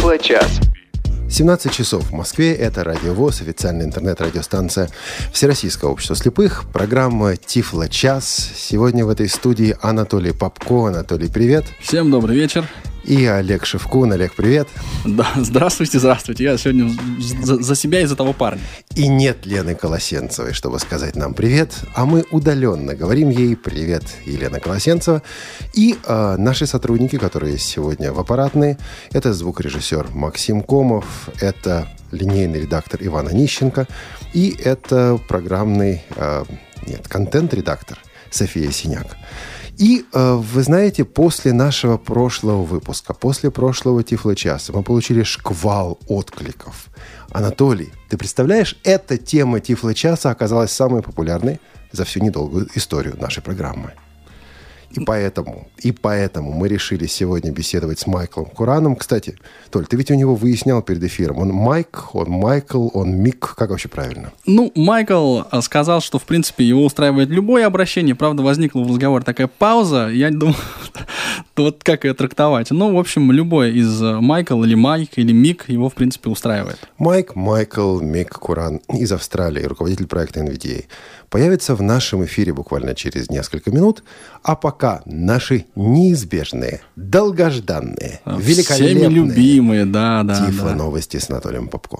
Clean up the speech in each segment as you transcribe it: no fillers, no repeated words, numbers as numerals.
Тифло-час. 17 часов в Москве. Это Радио ВОС, официальная интернет-радиостанция Всероссийского общества слепых. Программа «Тифло-час». Сегодня в этой студии Анатолий Попко. Анатолий, привет. Всем добрый вечер. И Олег Шевкун. Олег, привет. Да, здравствуйте. Я сегодня за себя и за того парня. И нет Лены Колосенцевой, чтобы сказать нам привет. А мы удаленно говорим ей привет, Елена Колосенцева. И наши сотрудники, которые сегодня в аппаратной, это звукорежиссер Максим Комов, это линейный редактор Иван Онищенко, и это контент-редактор София Синяк. И, вы знаете, после нашего прошлого выпуска, после прошлого Тифло-часа мы получили шквал откликов. Анатолий, ты представляешь, эта тема Тифло-часа оказалась самой популярной за всю недолгую историю нашей программы. И поэтому мы решили сегодня беседовать с Майклом Кураном. Кстати, Толь, ты ведь у него выяснял перед эфиром, он Майк, он Майкл, он Мик, как вообще правильно? Майкл сказал, что, в принципе, его устраивает любое обращение. Правда, возникла в разговоре такая пауза. Я думаю, вот как ее трактовать. В общем, любой из Майкл или Майк или Мик его, в принципе, устраивает. Майкл, Мик Куран из Австралии, руководитель проекта NVDA, появится в нашем эфире буквально через несколько минут. А пока наши неизбежные, долгожданные, великолепные, всеми любимые, Тифло-новости с Анатолием Попко.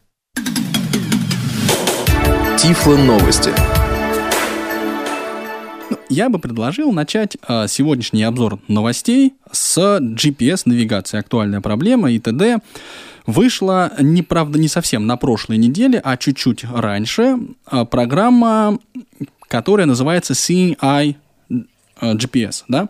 Тифло-новости. Я бы предложил начать сегодняшний обзор новостей с GPS-навигации. Актуальная проблема и т.д. Вышла, правда, не совсем на прошлой неделе, а чуть-чуть раньше, программа, которая называется Seeing Eye GPS. Да?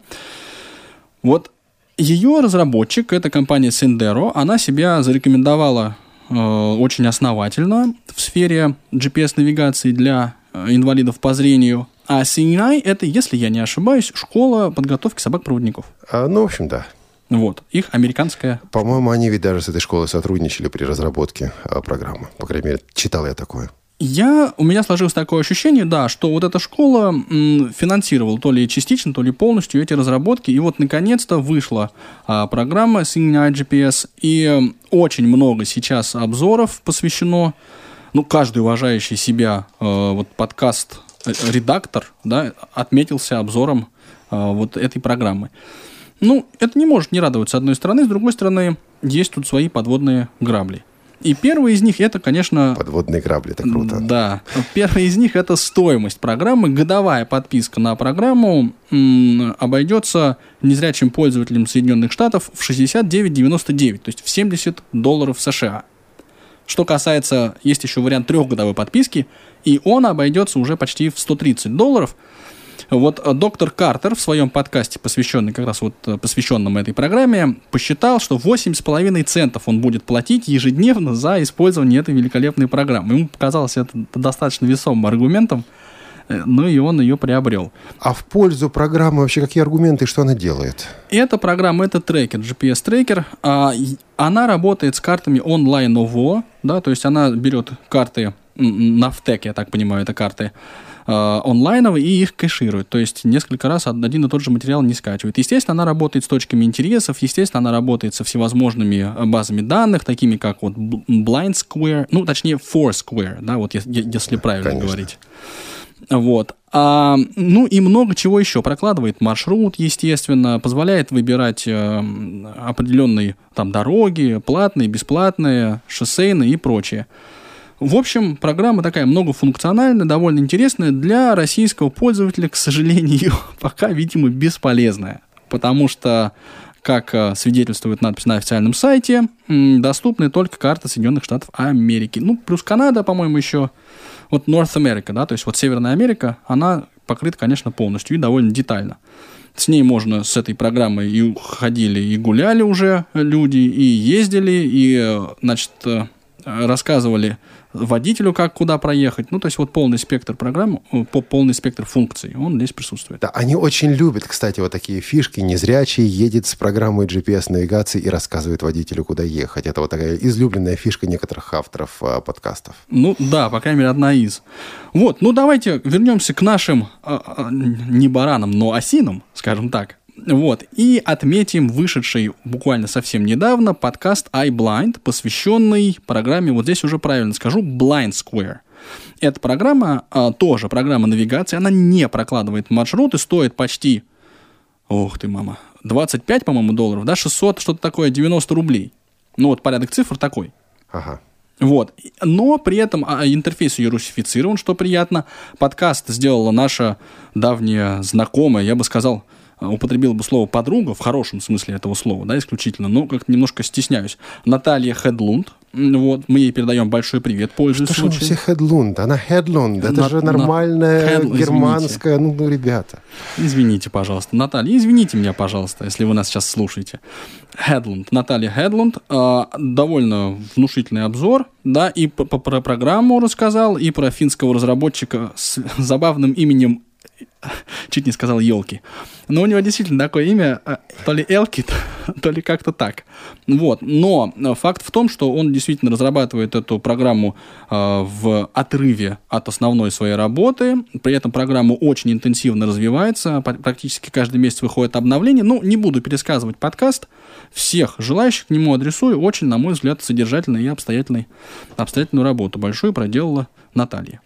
Вот ее разработчик, это компания Sendero, она себя зарекомендовала очень основательно в сфере GPS-навигации для инвалидов по зрению. А Seeing Eye — это, если я не ошибаюсь, школа подготовки собак-проводников. В общем, да. Вот, их американская... По-моему, они ведь даже с этой школой сотрудничали при разработке программы. По крайней мере, читал я такое. У меня сложилось такое ощущение, что вот эта школа финансировала то ли частично, то ли полностью эти разработки. И вот, наконец-то, вышла программа Seeing Eye GPS. И очень много сейчас обзоров посвящено... каждый уважающий себя подкаст-редактор, отметился обзором вот этой программы. Это не может не радовать с одной стороны, с другой стороны, есть тут свои подводные грабли. И первый из них это, конечно... Подводные грабли, это круто. Да. Первый из них это стоимость программы. Годовая подписка на программу обойдется незрячим пользователям Соединенных Штатов в $69.99, то есть в $70 США. Что касается, есть еще вариант 3-годовой подписки, и он обойдется уже почти в $130. Вот доктор Картер в своем подкасте, посвященном этой программе, посчитал, что 8,5 центов он будет платить ежедневно за использование этой великолепной программы. Ему показалось это достаточно весомым аргументом, и он ее приобрел. А в пользу программы вообще какие аргументы, что она делает? Эта программа, это трекер, GPS-трекер. Она работает с картами онлайн ОВО, то есть она берет карты, Навтек, я так понимаю, это карты, онлайновые, и их кэширует. То есть несколько раз один и тот же материал не скачивает. Естественно, она работает с точками интересов, естественно, она работает со всевозможными базами данных, такими как Blind Square, точнее Foursquare, если правильно говорить. Вот. И много чего еще. Прокладывает маршрут, естественно, позволяет выбирать определенные дороги, платные, бесплатные, шоссейные и прочее. В общем, программа такая многофункциональная, довольно интересная. Для российского пользователя, к сожалению, пока, видимо, бесполезная. Потому что, как свидетельствует надпись на официальном сайте, доступны только карты Соединенных Штатов Америки. Плюс Канада, по-моему, еще. North America, то есть Северная Америка, она покрыта, конечно, полностью и довольно детально. С ней можно, с этой программой, и ходили, и гуляли уже люди, и ездили, и, рассказывали водителю, как куда проехать. То есть полный спектр программ, полный спектр функций, он здесь присутствует. Да, они очень любят, кстати, такие фишки. Незрячий едет с программой GPS-навигации и рассказывает водителю, куда ехать. Это такая излюбленная фишка некоторых авторов подкастов. По крайней мере, одна из. Давайте вернемся к нашим не баранам, но осинам, скажем так. Вот. И отметим вышедший буквально совсем недавно подкаст iBlind, посвященный программе, вот здесь уже правильно скажу, Blind Square. Эта программа, тоже программа навигации, она не прокладывает маршруты, стоит почти, ох ты, мама, 25, по-моему, долларов, да, 600, что-то такое, 90 рублей. Ну, вот порядок цифр такой. Ага. Вот. Но при этом интерфейс ее русифицирован, что приятно. Подкаст сделала наша давняя знакомая, я бы сказал, употребил бы слово «подруга» в хорошем смысле этого слова, да, исключительно, но как-то немножко стесняюсь. Наталья Хедлунд. Вот, мы ей передаем большой привет, пользуясь случаем. Что все Хедлунд? Она Хедлунд. Это же нормальная германская, ну, ребята. Извините, пожалуйста, Наталья, извините меня, пожалуйста, если вы нас сейчас слушаете. Хедлунд, Наталья Хедлунд, довольно внушительный обзор, да, и про программу рассказал, и про финского разработчика с забавным именем, чуть не сказал елки. Но у него действительно такое имя, то ли Элки, то ли как-то так. Вот. Но факт в том, что он действительно разрабатывает эту программу в отрыве от основной своей работы. При этом программа очень интенсивно развивается. Практически каждый месяц выходит обновление. Ну, не буду пересказывать подкаст. Всех желающих к нему адресую. Очень, на мой взгляд, содержательную и обстоятельную работу большую проделала Наталья.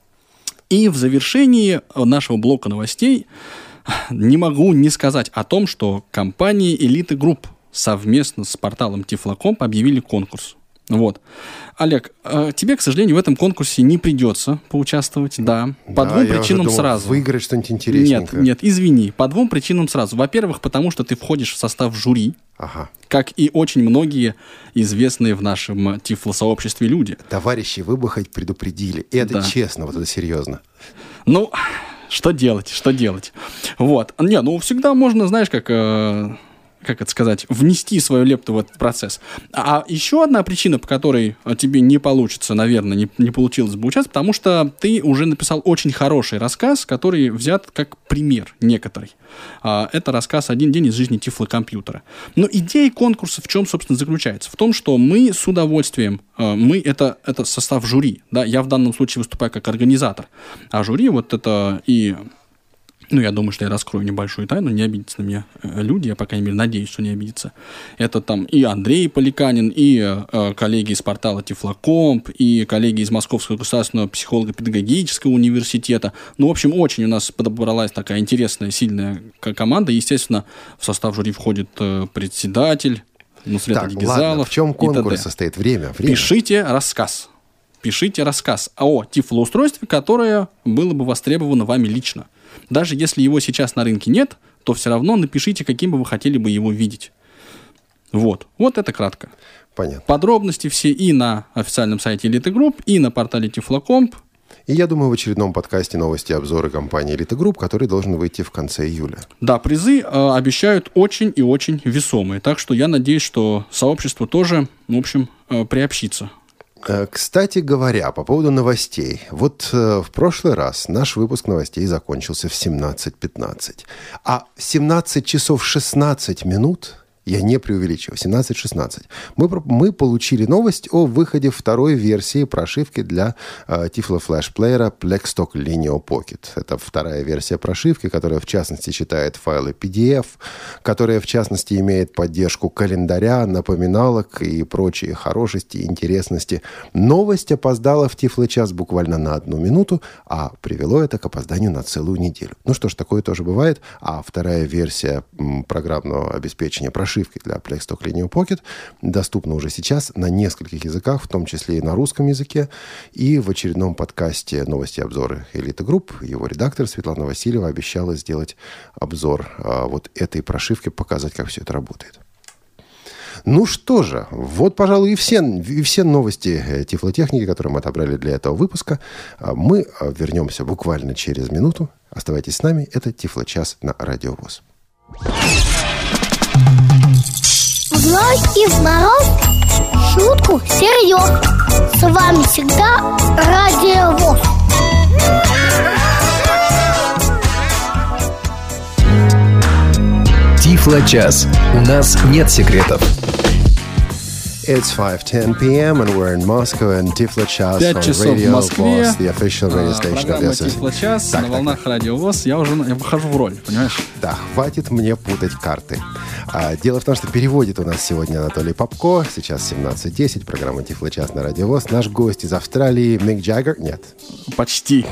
И в завершении нашего блока новостей не могу не сказать о том, что компания Elite Group совместно с порталом Tiflo.com объявили конкурс. Вот. Олег, тебе, к сожалению, в этом конкурсе не придется поучаствовать, да. По двум причинам сразу. Выиграть что-нибудь интересненькое. Нет, извини. По двум причинам сразу. Во-первых, потому что ты входишь в состав жюри, как и очень многие известные в нашем Тифло-сообществе люди. Товарищи, вы бы хоть предупредили. И это честно, вот это серьезно. Ну, что делать? Вот. Не, ну всегда можно, знаешь, как это сказать, внести свою лепту в этот процесс. А еще одна причина, по которой тебе не получится, наверное, не получилось бы участвовать, потому что ты уже написал очень хороший рассказ, который взят как пример некоторый. Это рассказ «Один день из жизни Тифлокомпьютера». Но идея конкурса в чем, собственно, заключается? В том, что мы с удовольствием, это состав жюри, да, я в данном случае выступаю как организатор, а жюри вот это и... Ну, я думаю, что я раскрою небольшую тайну, не обидятся на меня люди, я, по крайней мере, надеюсь, что не обидятся. Это там и Андрей Поликанин, и коллеги из портала Тифлокомп, и коллеги из Московского государственного психолого-педагогического университета. Ну, в общем, очень у нас подобралась такая интересная, сильная команда. Естественно, в состав жюри входит председатель, Нусрет Адигизалов. Ладно, в чем конкурс состоит? Время. Пишите рассказ о тифлоустройстве, которое было бы востребовано вами лично. Даже если его сейчас на рынке нет, то все равно напишите, каким бы вы хотели бы его видеть. Вот это кратко. Понятно. Подробности все и на официальном сайте Elite Group, и на портале Tiflo.com. И я думаю, в очередном подкасте новости и обзоры компании Elite Group, который должен выйти в конце июля. Да, призы обещают очень и очень весомые. Так что я надеюсь, что сообщество тоже, в общем, приобщится. Кстати говоря, по поводу новостей. Вот в прошлый раз наш выпуск новостей закончился в 17:15. А 17 часов 16 минут, я не преувеличиваю, 17:16, мы получили новость о выходе второй версии прошивки для Tiflo Flash плеера Blackstock Linear Pocket. Это вторая версия прошивки, которая в частности читает файлы PDF, которая в частности имеет поддержку календаря, напоминалок и прочие хорошести и интересности. Новость опоздала в Tiflo час буквально на 1 минуту, а привело это к опозданию на целую неделю. Ну что ж, такое тоже бывает. А вторая версия программного обеспечения прошивки для Blackstock Linear Pocket доступна уже сейчас на нескольких языках, в том числе и на русском языке. И в очередном подкасте «Новости и обзоры Elite Group» его редактор Светлана Васильева обещала сделать обзор вот этой прошивки, показать, как все это работает. Ну что же, вот, пожалуй, и все новости тифлотехники, которые мы отобрали для этого выпуска. Мы вернемся буквально через минуту. Оставайтесь с нами. Это Тифло-час на Радио ВОС. В ночь и в мороз шутку серьез. С вами всегда Радио ВОС. Тифло-час. У нас нет секретов. It's 5:10 p.m. and we're in Moscow and Tiflo Chas 5 on часов в Radio Москве. VOS, the official radio station of Программа the Тифло Час Так, на волнах Радио ВОС. Я выхожу в роль, понимаешь? Да, хватит мне путать карты. Дело в том, что переводит у нас сегодня Анатолий Попко. Сейчас 17:10, программа Тифло Час на Радио ВОС. Наш гость из Австралии Мик Джаггер. Нет. Почти.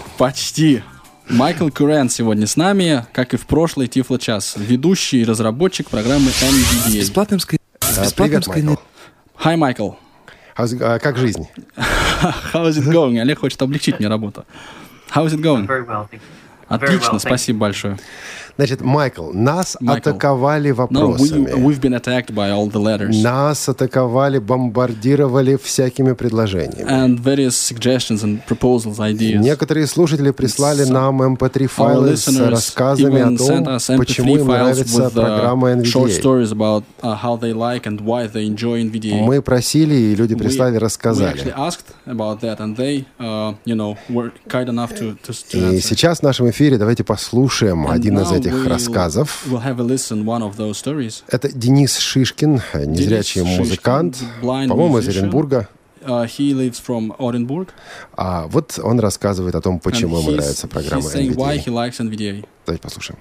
Майкл Курен сегодня с нами, как и в прошлый Тифло Час. Ведущий и разработчик программы NVDA. Бесплатным Привет, Майкл. Hi, Майкл. Как жизнь? How's it going? Олег хочет облегчить мне работу. How's it going? Very well, thank you. Отлично, спасибо большое. Значит, Майкл, нас атаковали вопросами. We've been attacked by all the letters. Нас атаковали, бомбардировали всякими предложениями. And various suggestions and proposals, ideas. Некоторые слушатели прислали нам MP3-файлы с рассказами о том, почему им нравится программа short NVDA. stories about how they like and why they enjoy NVDA. Мы просили, и люди прислали, We рассказали. actually asked about that, and they, were kind enough to И answer. сейчас в нашем эфире давайте послушаем And один из now этих рассказов. We'll have a listen one of those stories. Это Денис Шишкин, незрячий Денис музыкант, Шишкин, blind по-моему, из musician. Оренбурга. He lives from Orenburg. А вот он рассказывает о том, почему ему And нравится программа he's saying why NVDA. he likes NVDA. Давайте послушаем.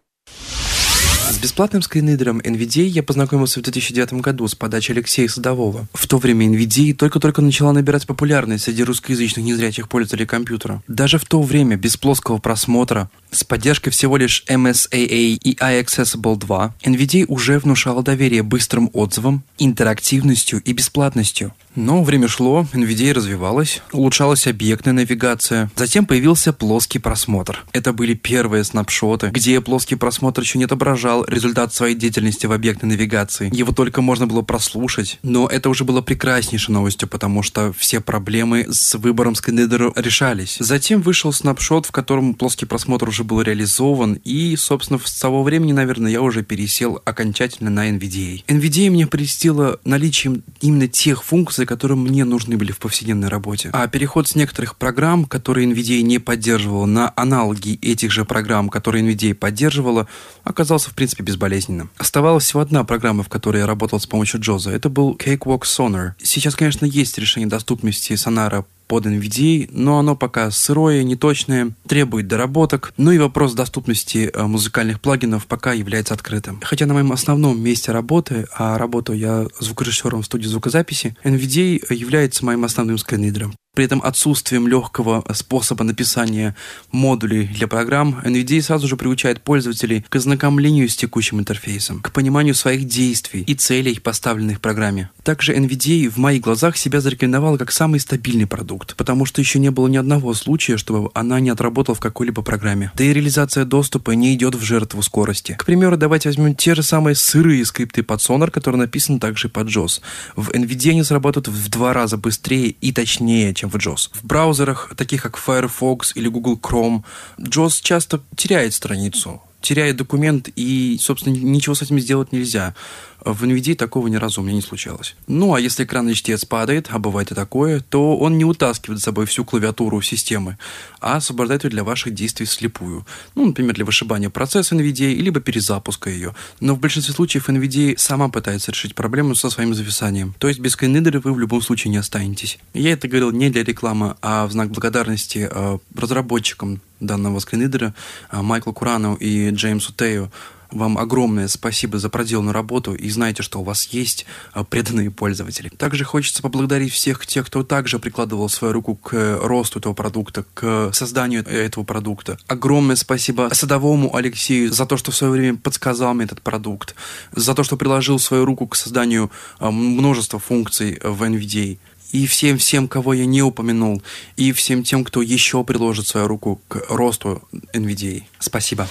С бесплатным скринридером NVDA я познакомился в 2009 году с подачи Алексея Садового. В то время NVDA только-только начала набирать популярность среди русскоязычных незрячих пользователей компьютера. Даже в то время, без плоского просмотра, с поддержкой всего лишь MSAA и iAccessible 2, NVDA уже внушала доверие быстрым отзывам, интерактивностью и бесплатностью. Но время шло, NVDA развивалась, улучшалась объектная навигация. Затем появился плоский просмотр. Это были первые снапшоты, где плоский просмотр еще не отображал результат своей деятельности в объектной навигации. Его только можно было прослушать. Но это уже было прекраснейшей новостью, потому что все проблемы с выбором скринридера решались. Затем вышел снапшот, в котором плоский просмотр уже был реализован, и, собственно, с того времени, наверное, я уже пересел окончательно на NVDA. NVDA мне прельстило наличием именно тех функций, которые мне нужны были в повседневной работе. А переход с некоторых программ, которые NVDA не поддерживала, на аналоги этих же программ, которые NVDA поддерживала, оказался, в принципе, безболезненным. Оставалась всего одна программа, в которой я работал с помощью JAWS. Это был Cakewalk Sonar. Сейчас, конечно, есть решение доступности сонара под NVDA, но оно пока сырое, неточное, требует доработок. Ну и вопрос доступности музыкальных плагинов пока является открытым. Хотя на моем основном месте работы, а работаю я звукорежиссером в студии звукозаписи, NVDA является моим основным скринридером. При этом отсутствием легкого способа написания модулей для программ NVDA сразу же приучает пользователей к ознакомлению с текущим интерфейсом, к пониманию своих действий и целей, поставленных в программе. Также NVDA в моих глазах себя зарекомендовала как самый стабильный продукт, потому что еще не было ни одного случая, чтобы она не отработала в какой-либо программе. Да и реализация доступа не идет в жертву скорости. К примеру, давайте возьмем те же самые сырые скрипты под Sonar, которые написаны также под JAWS. В NVDA они сработают в 2 раза быстрее и точнее, чем в JAWS. В браузерах, таких как Firefox или Google Chrome, JAWS часто теряет страницу, теряет документ, и, собственно, ничего с этим сделать нельзя. В NVDA такого ни разу у меня не случалось. Ну, а если экранный чтец падает, а бывает и такое, то он не утаскивает за собой всю клавиатуру системы, а освобождает ее для ваших действий вслепую. Ну, например, для вышибания процесса NVDA, либо перезапуска ее. Но в большинстве случаев NVDA сама пытается решить проблему со своим зависанием. То есть без скринридера вы в любом случае не останетесь. Я это говорил не для рекламы, а в знак благодарности разработчикам данного скринридера Майклу Курану и Джеймсу Тею. Вам огромное спасибо за проделанную работу, и знаете, что у вас есть преданные пользователи. Также хочется поблагодарить всех тех, кто также прикладывал свою руку к росту этого продукта, к созданию этого продукта. Огромное спасибо Садовому Алексею за то, что в свое время подсказал мне этот продукт, за то, что приложил свою руку к созданию множества функций в NVDA. И всем, кого я не упомянул, и всем тем, кто еще приложит свою руку к росту NVDA. Спасибо.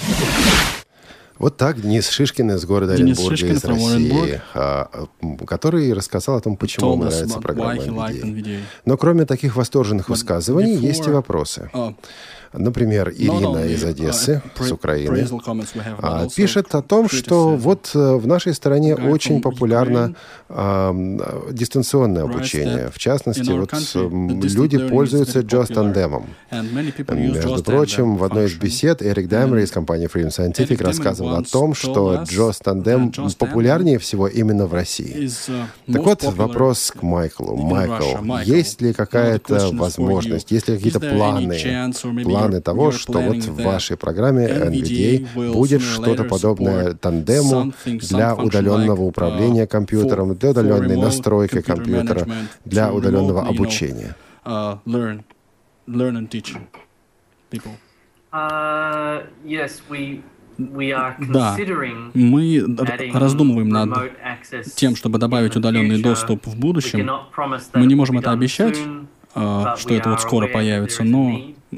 Вот так Денис Шишкин из города Оренбурга, из России, который рассказал о том, почему ему нравится программа NVDA. Но кроме таких восторженных высказываний, есть и вопросы. Например, Ирина из Одессы, с Украины, пишет о том, что вот в нашей стране очень популярно дистанционное обучение. В частности, вот люди пользуются JAWS тандемом. Между прочим, в одной из бесед Эрик Даймер из компании Freedom Scientific рассказывал о том, что JAWS тандем популярнее всего именно в России. Так вот, вопрос к Майклу. Майкл, есть ли какая-то возможность, есть ли какие-то планы того, что вот в вашей программе NVDA будет что-то подобное тандему для удаленного управления компьютером, для удаленной настройки компьютера, для удаленного обучения? Learn and teach people. Да, мы раздумываем над тем, чтобы добавить удаленный доступ в будущем. Мы не можем это обещать, что это вот скоро появится, но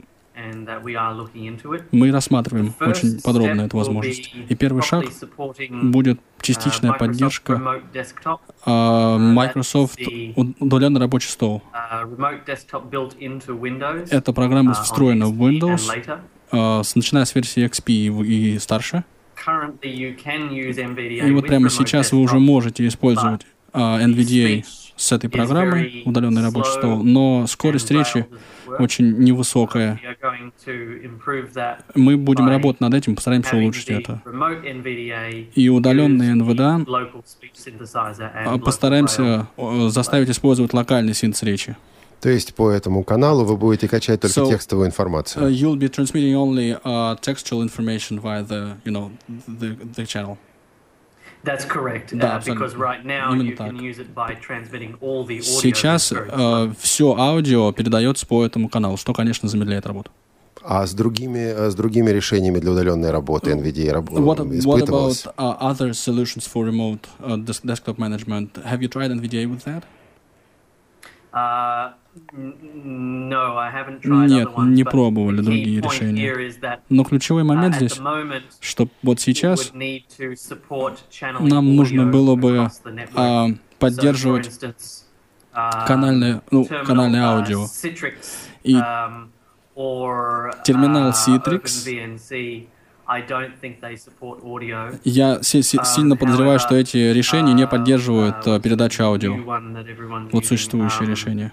мы рассматриваем очень подробно эту возможность. И первый шаг будет частичная поддержка Microsoft удаленный рабочий стол. Эта программа встроена в Windows, начиная с версии XP и старше. И вот прямо сейчас вы уже можете использовать NVDA с этой программой, удаленный рабочий стол, но скорость речи очень невысокая. Мы будем работать над этим, постараемся улучшить это. И удаленный NVDA постараемся заставить использовать локальный синтез речи. То есть по этому каналу вы будете качать только текстовую информацию? You'll be transmitting only textual information via the channel. That's correct. Да, because right now you can use it by transmitting all the audio. Сейчас все аудио передается по этому каналу, что, конечно, замедляет работу. А с другими решениями для удаленной работы NVDA испытывалось? What about other solutions for remote desktop management? Have you tried NVDA with that? Нет, не пробовали другие решения. Но ключевой момент здесь, что вот сейчас нам нужно было бы поддерживать канальное аудио. И терминал Citrix, я сильно подозреваю, что эти решения не поддерживают передачу аудио. Вот существующее решение.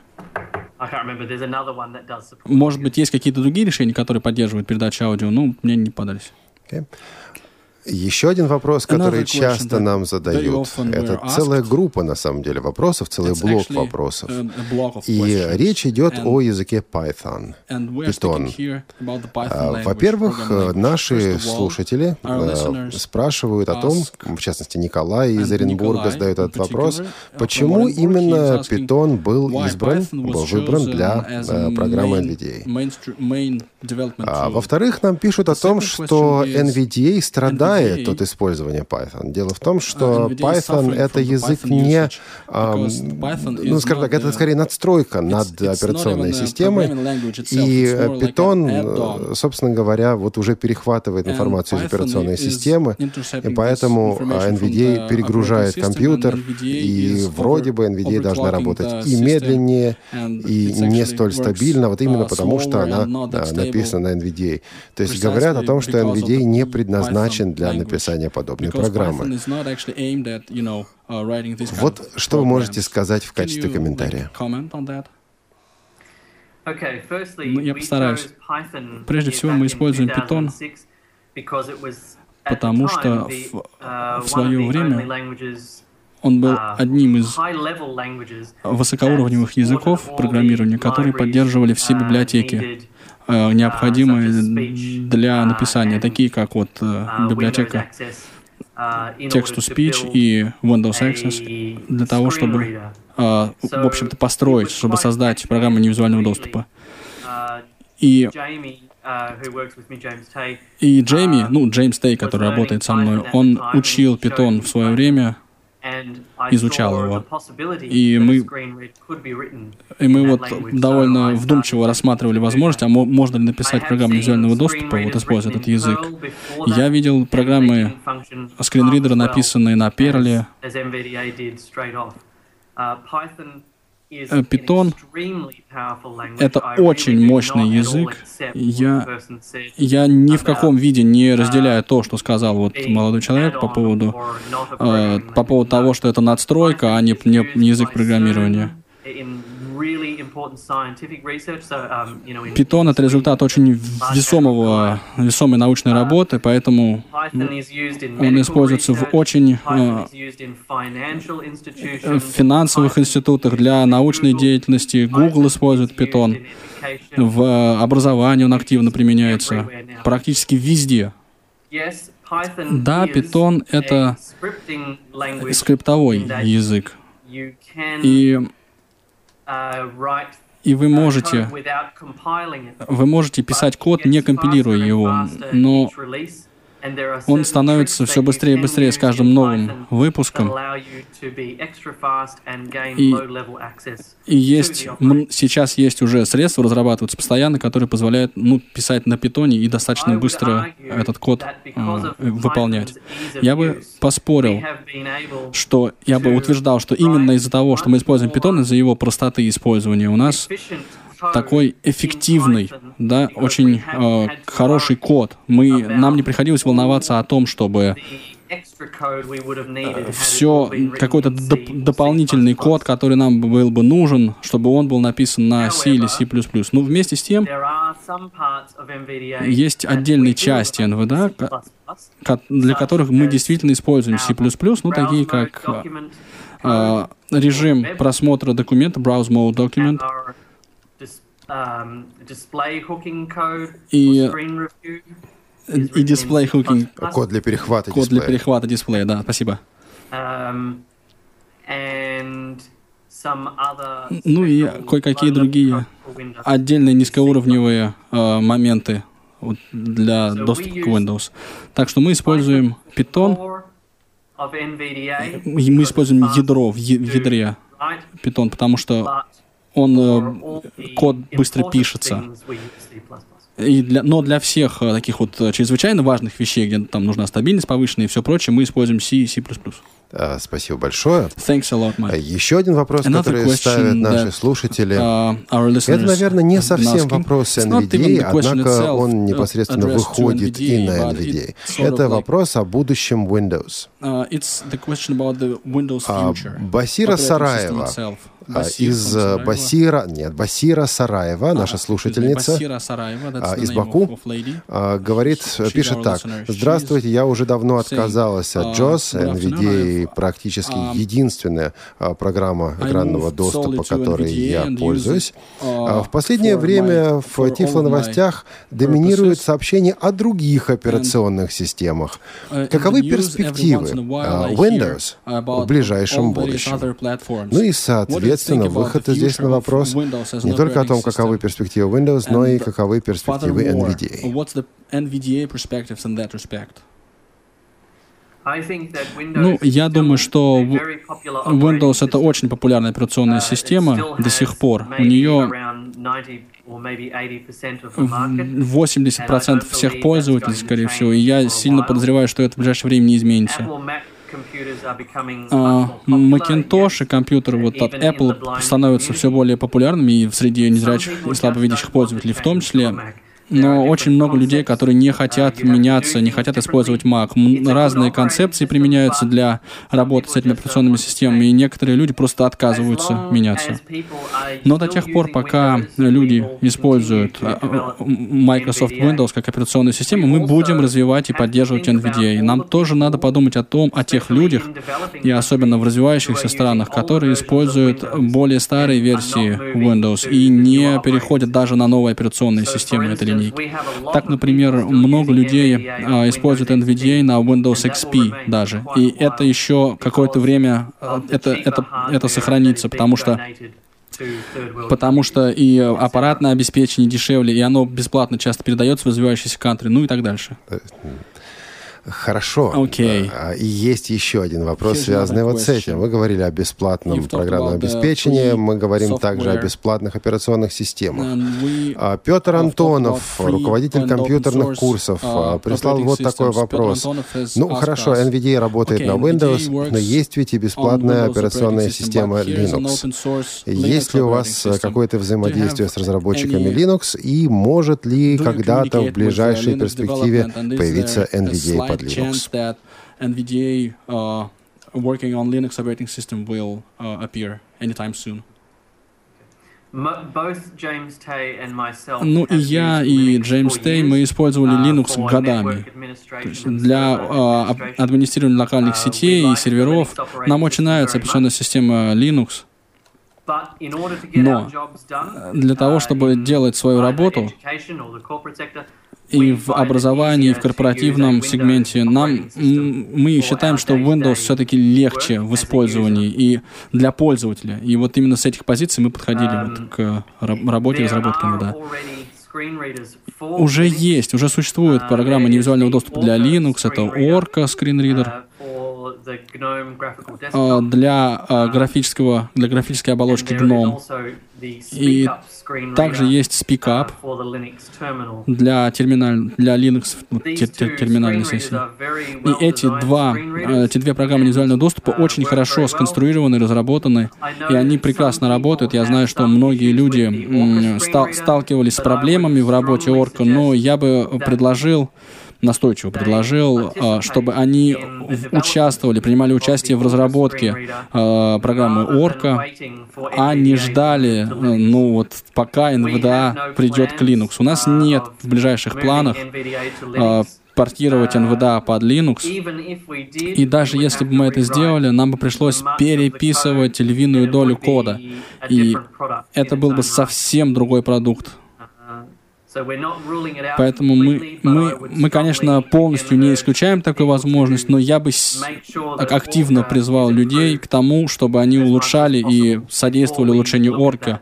Может быть, есть какие-то другие решения, которые поддерживают передачу аудио, но мне не подались. Еще один вопрос, который часто нам задают. Это целая группа, на самом деле, вопросов, целый блок вопросов. И речь идет о языке Python. Во-первых, наши слушатели спрашивают о том, в частности, Николай из Оренбурга задает этот вопрос, почему именно Python был выбран для программы NVDA. Во-вторых, нам пишут о том, что NVDA страдает от использования Python. Дело в том, что Python — это язык не... скажем так, это скорее надстройка над операционной системой. И Python, собственно говоря, вот уже перехватывает информацию из операционной системы, и поэтому NVDA перегружает компьютер, и вроде бы NVDA должна работать и медленнее, и не столь стабильно, вот именно потому, что она написана на NVDA. То есть говорят о том, что NVDA не предназначен для написания подобной программы. Вот что вы можете сказать в качестве комментария? Я постараюсь. Прежде всего, мы используем Python, потому что в свое время он был одним из высокоуровневых языков программирования, которые поддерживали все библиотеки, необходимые для написания, такие как вот библиотека Text-to-Speech и Windows Access, для того, чтобы, в общем-то, построить, чтобы создать программу невизуального доступа. И Джейми, Джеймс Тей, который работает со мной, он учил Python в свое время, изучал его. И мы вот довольно вдумчиво рассматривали возможность, а можно ли написать программу визуального доступа, вот используя этот язык. Я видел программы скринридера, написанные на Perl. Python — это очень мощный язык. Я ни в каком виде не разделяю то, что сказал вот молодой человек по поводу того, что это надстройка, а не язык программирования. Python — это результат очень весомой научной работы, поэтому он используется в очень финансовых институтах для научной деятельности. Google использует Python. В образовании он активно применяется. Практически везде. Да, Python — это скриптовой язык. И вы можете писать код, не компилируя его, но он становится все быстрее и быстрее с каждым новым выпуском. И сейчас есть уже средства, разрабатываются постоянно, которые позволяют писать на питоне и достаточно быстро этот код выполнять. Я бы поспорил, я бы утверждал, что именно из-за того, что мы используем питон, из-за его простоты использования, у нас такой эффективный, да, очень хороший код. Нам не приходилось волноваться о том, чтобы какой-то дополнительный код, который нам был бы нужен, чтобы он был написан на C или C++. Но вместе с тем есть отдельные части NVDA, для которых мы действительно используем C++, такие как режим просмотра документа, Browse Mode Document, и display hooking. Код для перехвата дисплея. Код для перехвата дисплея, да, спасибо. И кое-какие другие отдельные низкоуровневые моменты для доступа к Windows. Так что мы используем Python, мы используем ядро в ядре Python, потому что код быстро пишется. Но для всех таких чрезвычайно важных вещей, где там нужна стабильность повышенная и все прочее, мы используем C и C++. Спасибо большое. Thanks a lot, Mike. Еще один вопрос, который ставят наши слушатели. Это, наверное, не совсем вопрос NVDA, однако он непосредственно выходит и на NVDA. Это вопрос о будущем Windows. Басира Сараева Басира Сараева, наша слушательница из Баку, пишет так. Здравствуйте, я уже давно отказалась от JAWS. NVDA практически единственная программа экранного доступа, которой я пользуюсь. В последнее время в Тифло-новостях доминируют сообщения о других операционных системах. Каковы перспективы Windows в ближайшем будущем? И, соответственно, выход здесь на вопрос не только о том, каковы перспективы Windows, но и каковы перспективы NVDA. Я думаю, что Windows — это очень популярная операционная система до сих пор. У нее 80% всех пользователей, скорее всего, и я сильно подозреваю, что это в ближайшее время не изменится. Macintosh и компьютеры от Apple становятся все более популярными и среди незрячих и слабовидящих пользователей в том числе. Но очень много людей, которые не хотят меняться, не хотят использовать Mac. Разные концепции применяются для работы с этими операционными системами, и некоторые люди просто отказываются меняться. Но до тех пор, пока люди используют Microsoft Windows как операционную систему, мы будем развивать и поддерживать NVDA. И нам тоже надо подумать о тех людях, и особенно в развивающихся странах, которые используют более старые версии Windows и не переходят даже на новые операционные системы этой линейки. Так, например, много людей используют NVDA на Windows XP даже. И это еще какое-то время это сохранится, потому что и аппаратное обеспечение дешевле, и оно бесплатно часто передается в развивающиеся кантри, и так дальше. Хорошо. Окей. И есть еще один вопрос, Here's связанный another вот с этим. Вы говорили о бесплатном You've talked программном about the обеспечении, free мы говорим также о software. бесплатных операционных системах. And we Петр have Антонов, talked about free руководитель and компьютерных open source, курсов, прислал operating вот такой systems. вопрос. Петр Антонов has Ну, asked хорошо, us, NVIDIA работает okay, на NVIDIA Windows, works но есть ведь и on бесплатная Windows операционная operating system, система but here's an Linux. open source Есть Linux ли у operating вас system. какое-то взаимодействие Do you с разработчиками have Linux, и может ли Do you когда-то communicate в ближайшей with, Linux перспективе development, and is появиться there a NVIDIA под slight Linux? chance that NVIDIA working on Linux operating system will appear anytime soon? Both James Tay and myself Ну и have я, used и Linux Джеймс for Тей, years, мы использовали Linux for годами. network То administration есть and для server administration. администрирования локальных сетей и серверов нам очень нравится операционная система Linux. But in order to get Но our jobs done, для того, чтобы in делать свою either работу education or the corporate sector, и we в find it образовании, и в easier to корпоративном use a сегменте, Windows operating system мы for считаем, our что day-to-day Windows все-таки легче work в as a использовании user. и для пользователя. И вот именно с этих позиций мы подходили вот к работе и разработке НВДА. Уже есть, уже существует программа невизуального доступа для Linux, это Orca скринридер. Для графической оболочки GNOME. И также есть SpeakUp для Linux терминальной сессии. И эти две программы невизуального доступа очень хорошо сконструированы, разработаны, и они прекрасно работают. Я знаю, что многие люди сталкивались с проблемами в работе Orca, но я бы настойчиво предложил, чтобы они принимали участие в разработке программы Orca, а не ждали, пока NVDA придет к Linux. У нас нет в ближайших планах портировать NVDA под Linux, и даже если бы мы это сделали, нам бы пришлось переписывать львиную долю кода, и это был бы совсем другой продукт. Поэтому мы, конечно, полностью не исключаем такую возможность, но я бы активно призвал людей к тому, чтобы они улучшали и содействовали улучшению Orca,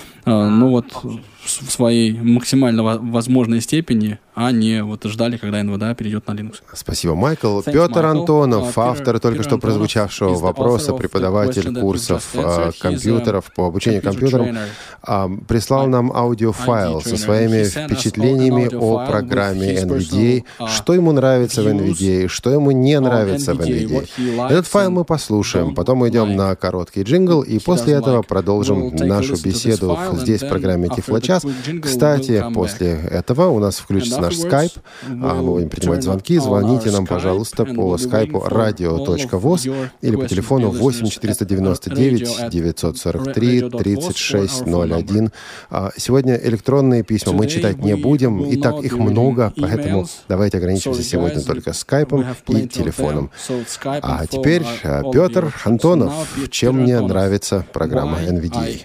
в своей максимально возможной степени, а не ждали, когда NVDA перейдет на Linux. Спасибо, Майкл. Петр Антонов, автор только что прозвучавшего вопроса, преподаватель курсов компьютеров по обучению компьютерам, прислал нам аудиофайл со своими впечатлениями о программе NVDA, что ему нравится в NVDA, что ему не нравится в NVDA. Этот файл мы послушаем, потом мы идем на короткий джингл, и после этого продолжим нашу беседу здесь в программе Тифлочас. Кстати, после этого у нас включится наш скайп. Мы будем принимать звонки. Звоните нам, пожалуйста, по скайпу radio.voz или по телефону 8 499 943 3601. Сегодня электронные письма мы читать не будем. И так их много, поэтому давайте ограничимся сегодня только скайпом и телефоном. А теперь Петр Антонов. Чем мне нравится программа NVDA?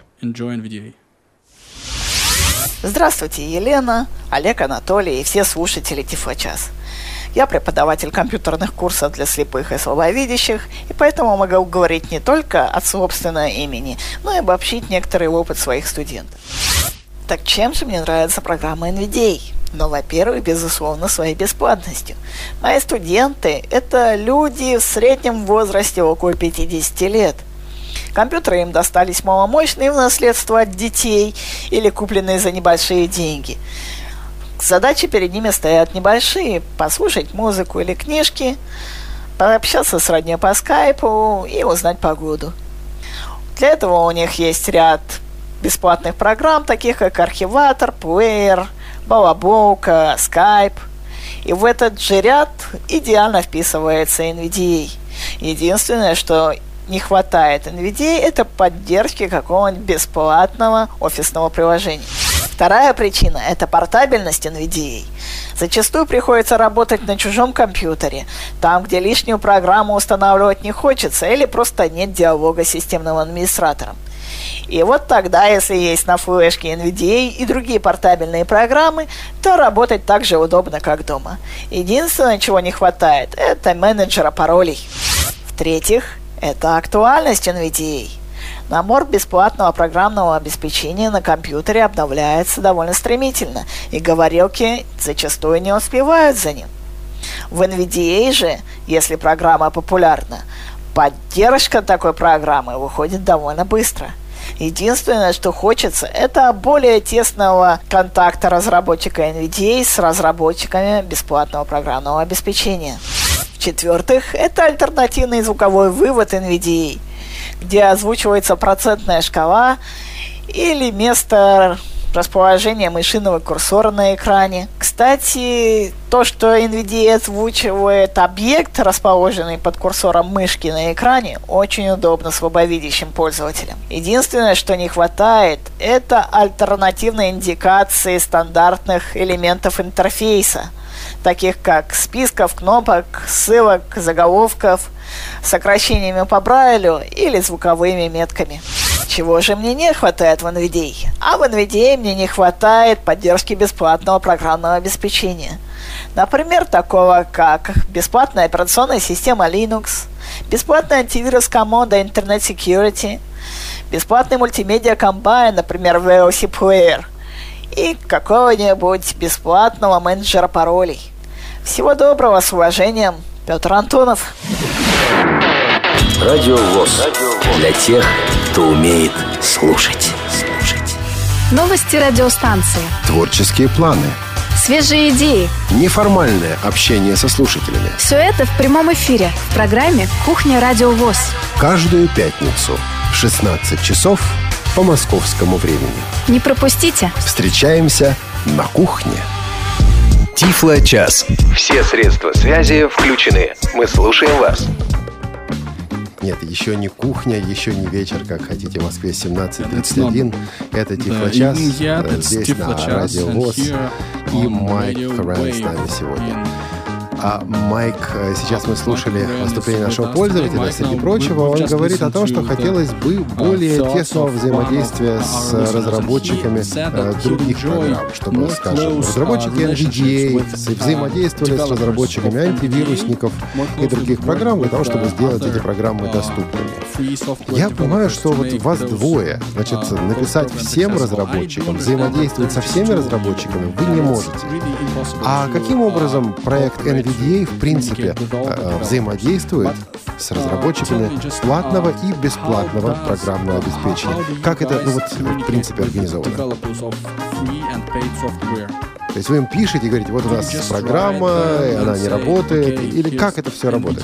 Здравствуйте, Елена, Олег, Анатолий и все слушатели Тифлочас. Я преподаватель компьютерных курсов для слепых и слабовидящих, и поэтому могу говорить не только от собственного имени, но и обобщить некоторый опыт своих студентов. Так чем же мне нравится программа NVDA? Во-первых, безусловно, своей бесплатностью. Мои студенты – это люди в среднем возрасте около 50 лет. Компьютеры им достались маломощные в наследство от детей или купленные за небольшие деньги. Задачи перед ними стоят небольшие – послушать музыку или книжки, пообщаться с роднёй по скайпу и узнать погоду. Для этого у них есть ряд бесплатных программ, таких как архиватор, плеер, балаболка, скайп. И в этот же ряд идеально вписывается NVDA. Единственное, что не хватает NVDA, это поддержки какого-нибудь бесплатного офисного приложения. Вторая причина – это портабельность NVDA. Зачастую приходится работать на чужом компьютере, там, где лишнюю программу устанавливать не хочется или просто нет диалога с системным администратором. И вот тогда, если есть на флешке NVDA и другие портабельные программы, то работать так же удобно, как дома. Единственное, чего не хватает, это менеджера паролей. В-третьих, это актуальность NVDA. Набор бесплатного программного обеспечения на компьютере обновляется довольно стремительно, и говорилки зачастую не успевают за ним. В NVDA же, если программа популярна, поддержка такой программы выходит довольно быстро. Единственное, что хочется, это более тесного контакта разработчика NVDA с разработчиками бесплатного программного обеспечения. В-четвертых, это альтернативный звуковой вывод NVDA, где озвучивается процентная шкала или место расположения мышиного курсора на экране. Кстати, то, что NVDA озвучивает объект, расположенный под курсором мышки на экране, очень удобно слабовидящим пользователям. Единственное, что не хватает, это альтернативной индикации стандартных элементов интерфейса, таких как списков, кнопок, ссылок, заголовков, сокращениями по Брайлю или звуковыми метками. Чего же мне не хватает в NVDA? А в NVDA мне не хватает поддержки бесплатного программного обеспечения. Например, такого как бесплатная операционная система Linux, бесплатный антивирус команда Internet Security, бесплатный мультимедиа комбайн, например, VLC Player, и какого-нибудь бесплатного менеджера паролей. Всего доброго, с уважением, Петр Антонов. Радио ВОС. Для тех, кто умеет слушать. Новости радиостанции. Творческие планы. Свежие идеи. Неформальное общение со слушателями. Все это в прямом эфире в программе «Кухня Радио ВОС». Каждую пятницу в 16 часов по московскому времени. Не пропустите. Встречаемся на кухне. Тифло-час. Все средства связи включены. Мы слушаем вас. Нет, еще не кухня, еще не вечер, как хотите, в Москве 17:31. Это Тифло-час. Здесь на Радио ВОС. И Майк Карен с нами сегодня. А Майк, сейчас мы слушали выступление нашего пользователя. Среди прочего, он говорит о том, что хотелось бы более тесного взаимодействия с разработчиками других программ, чтобы, скажем, разработчики NVDA взаимодействовали с разработчиками антивирусников и других программ для того, чтобы сделать эти программы доступными. Я понимаю, что вот вас двое, значит, написать всем разработчикам, взаимодействовать со всеми разработчиками вы не можете. А каким образом проект NVDA в принципе взаимодействует с разработчиками платного и бесплатного программного обеспечения? Как это, в принципе, организовано? То есть вы им пишете и говорите, вот у нас программа, и она не работает, или как это все работает?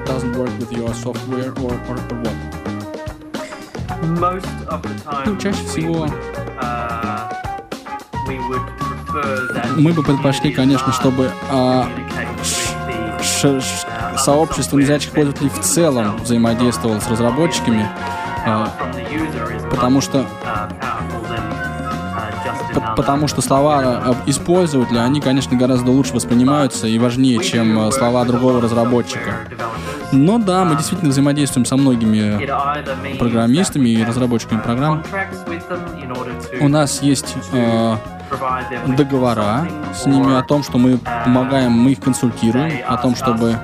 Чаще всего мы бы предпочли, конечно, чтобы сообщество незрячих пользователей в целом взаимодействовало с разработчиками, потому что слова использователя, они, конечно, гораздо лучше воспринимаются и важнее, чем слова другого разработчика. Но да, мы действительно взаимодействуем со многими программистами и разработчиками программ. У нас есть договора с ними о том, что мы помогаем, мы их консультируем, о том,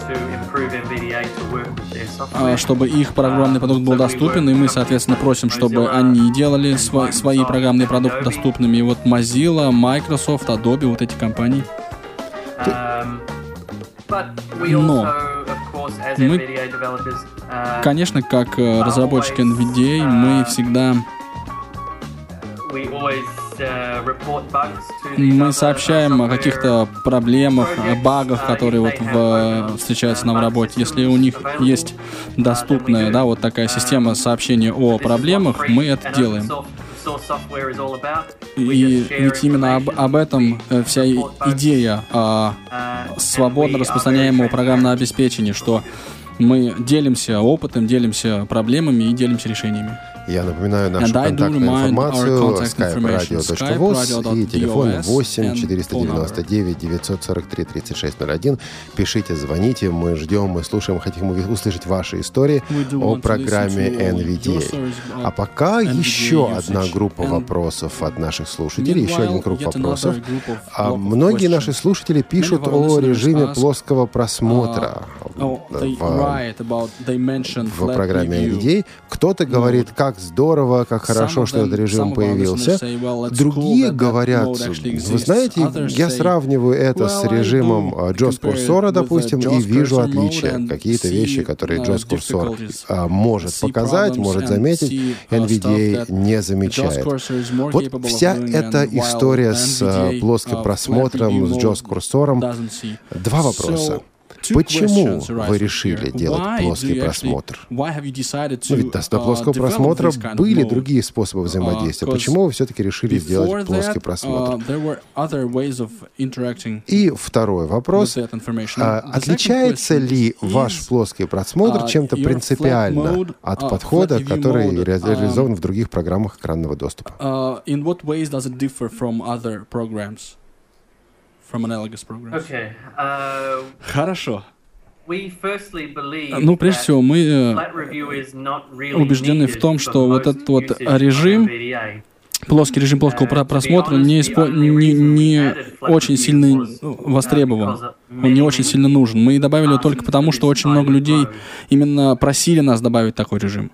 чтобы их программный продукт был доступен, и мы, соответственно, просим, чтобы они делали свои программные продукты доступными. И вот Mozilla, Microsoft, Adobe, вот эти компании. Но мы, конечно, как разработчики NVDA, мы всегда сообщаем о каких-то проблемах, о багах, которые вот встречаются нам в работе. Если у них есть доступная, да, вот такая система сообщения о проблемах, мы это делаем. И ведь именно об этом вся идея свободно распространяемого программного обеспечения, что мы делимся опытом, делимся проблемами и делимся решениями. Я напоминаю нашу контактную информацию: skype-radio.voz и телефон 8 499 943 3601. Пишите, звоните, мы ждем, мы слушаем, хотим услышать ваши истории о программе NVDA. А пока еще одна группа вопросов от наших слушателей, еще один круг вопросов. Многие наши слушатели пишут о режиме плоского просмотра в программе NVDA. Кто-то говорит, как как здорово, как хорошо, что этот режим появился. Другие говорят, вы знаете, я сравниваю это с режимом JAWS курсора, допустим, и вижу отличия. Какие-то вещи, которые JAWS курсор может показать, может заметить, NVDA не замечает. Вот вся эта история с плоским просмотром, с JAWS курсором. Два вопроса. Почему вы решили делать плоский просмотр? Ведь до плоского просмотра были другие способы взаимодействия. Почему вы все-таки решили сделать плоский просмотр? И второй вопрос. Отличается ли ваш плоский просмотр чем-то принципиально от подхода, который реализован в других программах экранного доступа? Хорошо. Ну, прежде всего, мы убеждены в том, что вот этот вот режим, плоский режим плоского просмотра не очень сильно востребован, он не очень сильно нужен. Мы добавили его только потому, что очень много людей именно просили нас добавить такой режим.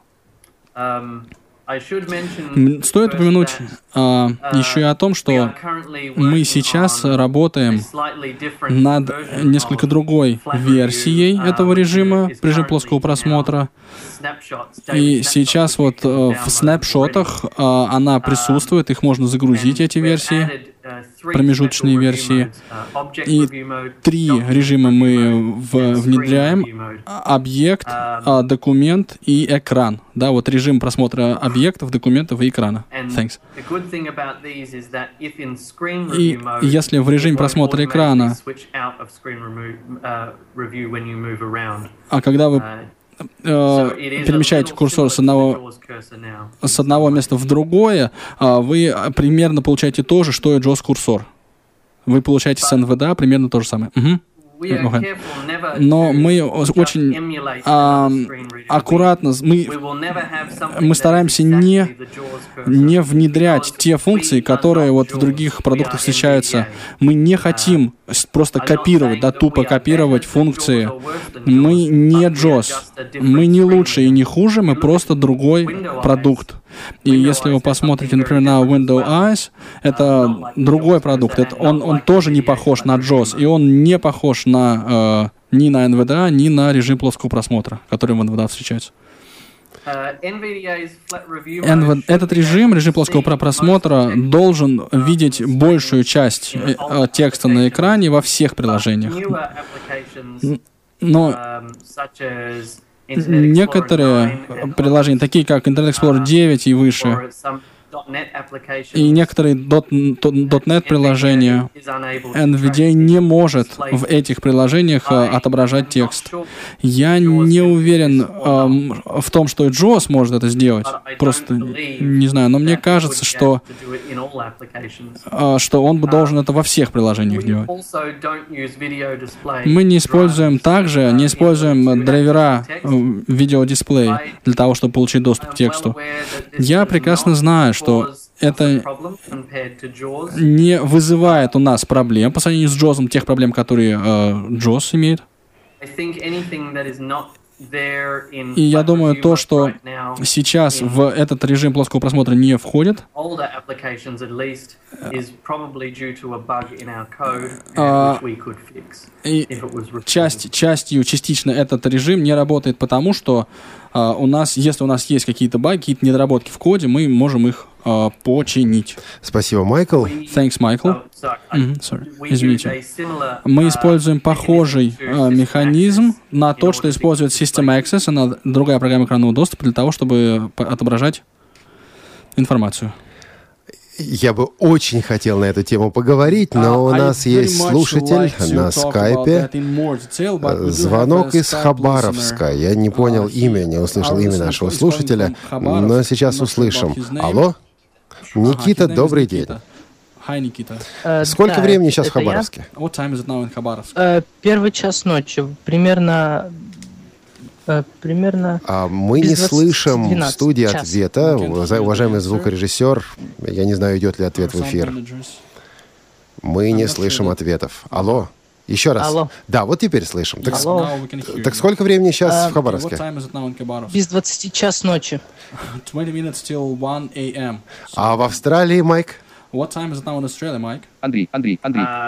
Стоит упомянуть еще и о том, что мы сейчас работаем над несколько другой версией этого режима, режим плоского просмотра. И сейчас вот в снапшотах она присутствует, их можно загрузить, эти версии, промежуточные версии. И 3 режима мы внедряем: объект, документ и экран. Да, вот режим просмотра объектов, документов и экрана. Thanks. И если в режиме просмотра экрана, когда вы перемещаете курсор с одного места в другое, вы примерно получаете то же, что и JAWS-курсор. Вы получаете с NVDA примерно то же самое. Но мы очень аккуратно, мы стараемся не внедрять те функции, которые вот в других продуктах встречаются. Мы не хотим просто копировать, да, тупо копировать функции. Мы не JAWS, мы не лучше и не хуже, мы просто другой продукт. И если вы посмотрите, например, на Windows Eyes, это другой продукт. Он тоже не похож на JAWS, и он не похож ни на NVDA, ни на режим плоского просмотра, который в NVDA встречается. Этот режим плоского просмотра, должен видеть большую часть текста на экране во всех приложениях. Но некоторые приложения, такие как Internet Explorer 9 и выше, и некоторые .NET приложения, NVDA не может в этих приложениях отображать текст. Я не уверен в том, что и JAWS может это сделать. Просто не знаю, но мне кажется, что он должен это во всех приложениях делать. Мы не используем драйвера видеодисплея для того, чтобы получить доступ к тексту. Я прекрасно знаю, что это не вызывает у нас проблем по сравнению с JAWS, тех проблем, которые JAWS имеет. И я думаю, то, что сейчас в этот режим плоского просмотра не входит, и частично этот режим не работает, потому что если у нас есть какие-то баги, какие-то недоработки в коде, мы можем их починить. Спасибо, Майкл. Thanks, Майкл. Извините. Мы используем похожий механизм на тот, что использует System Access, она другая программа экранного доступа, для того, чтобы отображать информацию. Я бы очень хотел на эту тему поговорить, но у нас есть слушатель на скайпе. Звонок из Хабаровска. Я не понял имя, не услышал имя нашего слушателя, но сейчас услышим. Алло? Никита, добрый день. Сколько времени сейчас в Хабаровске? 1 час ночи. Примерно... Мы не слышим в студии ответа. Уважаемый звукорежиссер, я не знаю, идет ли ответ в эфир. Мы не слышим ответов. Алло, Еще раз. Алло. Да, вот теперь слышим. Так, Алло. так сколько времени сейчас в Хабаровске? Без 20 час ночи. 20 minutes till 1 a.m. А в Австралии, Майк? What time is it now in Australia, Mike? Андрей. 20